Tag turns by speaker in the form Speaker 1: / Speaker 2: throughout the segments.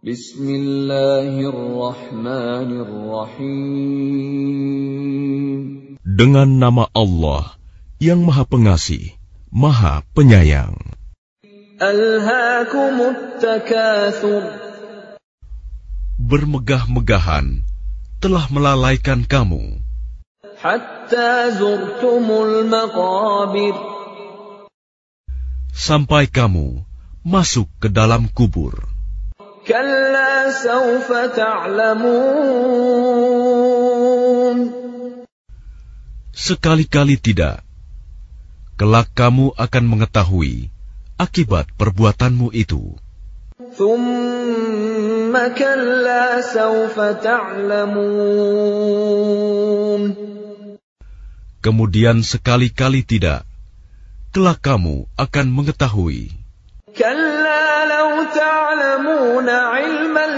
Speaker 1: Bismillahirrahmanirrahim.
Speaker 2: Dengan nama Allah yang Maha Pengasih, Maha Penyayang.
Speaker 1: Alhaakumut takatsur.
Speaker 2: Bermegah-megahan telah melalaikan kamu
Speaker 1: Hatta zurtumul maqabir.
Speaker 2: sampai kamu masuk ke dalam kubur.
Speaker 1: Kalla sawfa ta'lamun.
Speaker 2: Sekali-kali tidak. Kelak kamu akan mengetahui akibat perbuatanmu itu.
Speaker 1: Thumma kalla sawfa ta'lamun.
Speaker 2: Kemudian sekali-kali tidak. Kelak kamu akan mengetahui.
Speaker 1: Kalla law ta'lamuna 'ilmal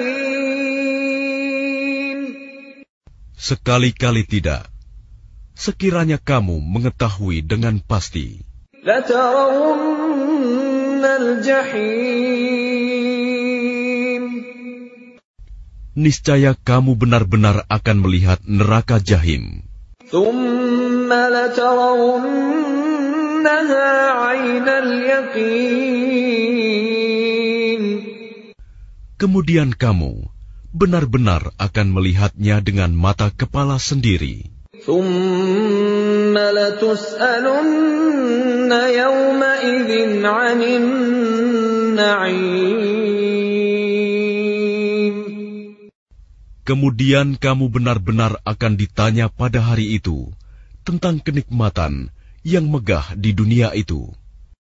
Speaker 1: yaqin.
Speaker 2: Sekali-kali tidak. Sekiranya kamu mengetahui dengan pasti,
Speaker 1: Latarawunnal jahim.
Speaker 2: niscaya kamu benar-benar akan melihat neraka Jahim.
Speaker 1: Thumma latarawunnaha 'ainal yaqin.
Speaker 2: Kemudian kamu benar-benar akan melihatnya dengan mata kepala sendiri.
Speaker 1: Thumma latus'alunna yawma'idhin 'anin na'im.
Speaker 2: Kemudian kamu benar-benar akan ditanya pada hari itu tentang kenikmatan yang megah di dunia itu.